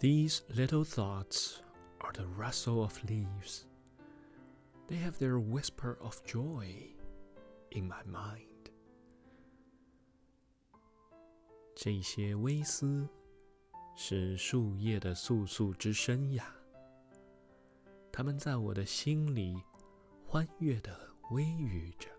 These little thoughts are the rustle of leaves. They have their whisper of joy in my mind. 这些微思是树叶的簌簌之声呀，它们在我的心里欢悦地微语着。